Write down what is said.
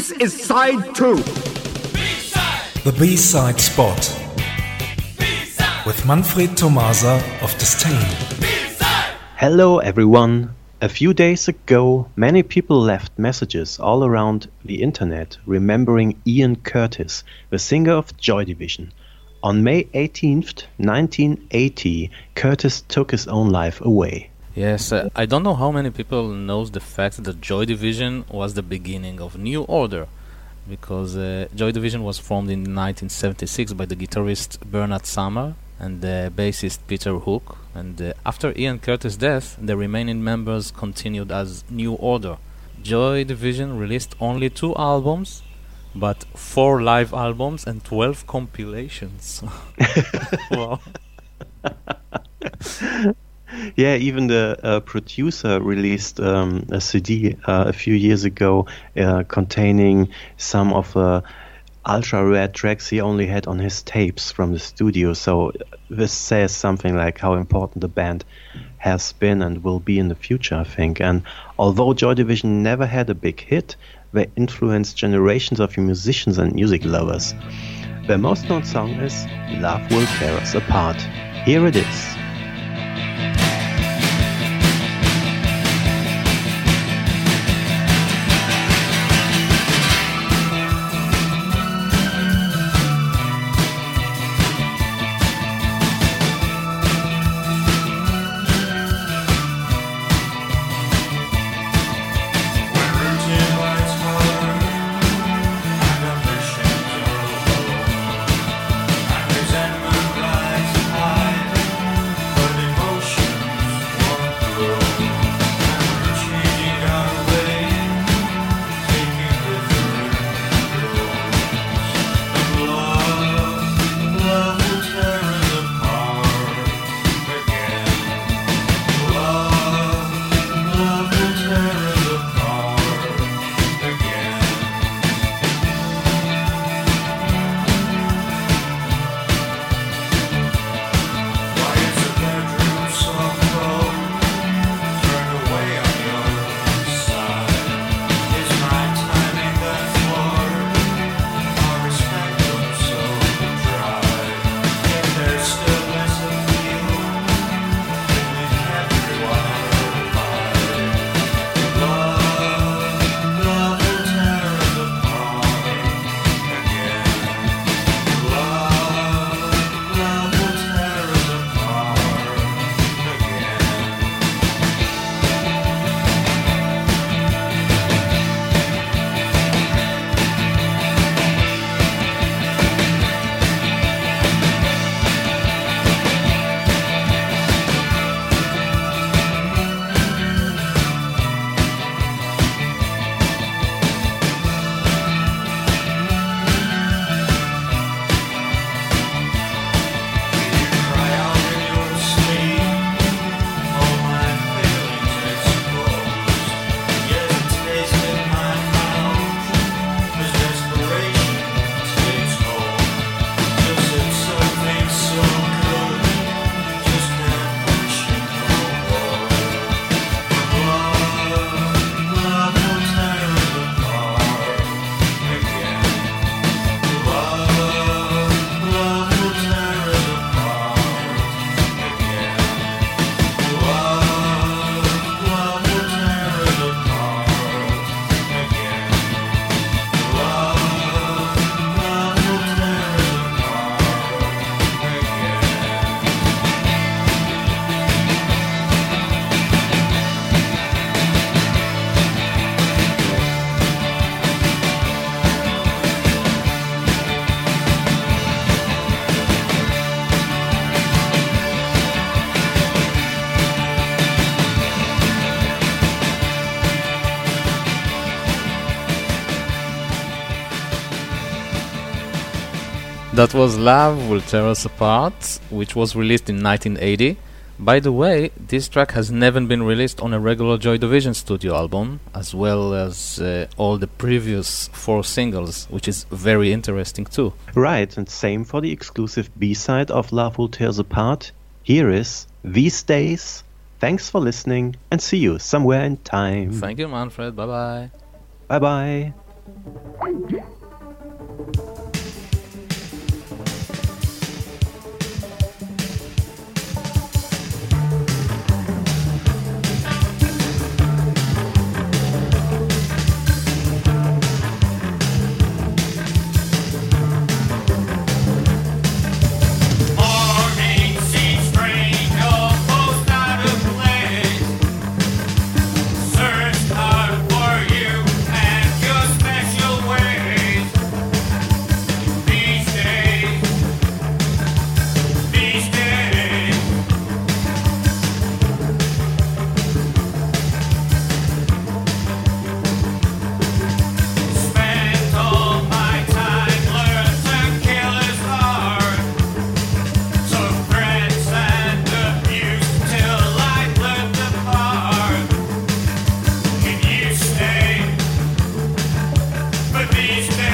This is side 2. The B-side spot. With Manfred Tomasa of Disdain. Hello everyone. A few days ago, many people left messages all around the internet remembering Ian Curtis, the singer of Joy Division. On May 18th, 1980, Curtis took his own life away. Yes, I don't know how many people knows the fact that Joy Division was the beginning of New Order, because Joy Division was formed in 1976 by the guitarist Bernard Sumner and the bassist Peter Hook, and after Ian Curtis' death, the remaining members continued as New Order. Joy Division released only 2 albums, but 4 live albums and 12 compilations. Wow. Yeah, even the producer released a CD a few years ago containing some of the ultra-rare tracks he only had on his tapes from the studio. So this says something like how important the band has been and will be in the future, I think. And although Joy Division never had a big hit, they influenced generations of musicians and music lovers. Their most known song is Love Will Tear Us Apart. Here it is. That was Love Will Tear Us Apart, which was released in 1980. By the way, this track has never been released on a regular Joy Division studio album, as well as all the previous 4 singles, which is very interesting too. Right, and same for the exclusive B-side of Love Will Tear Us Apart. Here is These Days. Thanks for listening, and see you somewhere in time. Thank you, Manfred. Bye-bye. Bye-bye. These days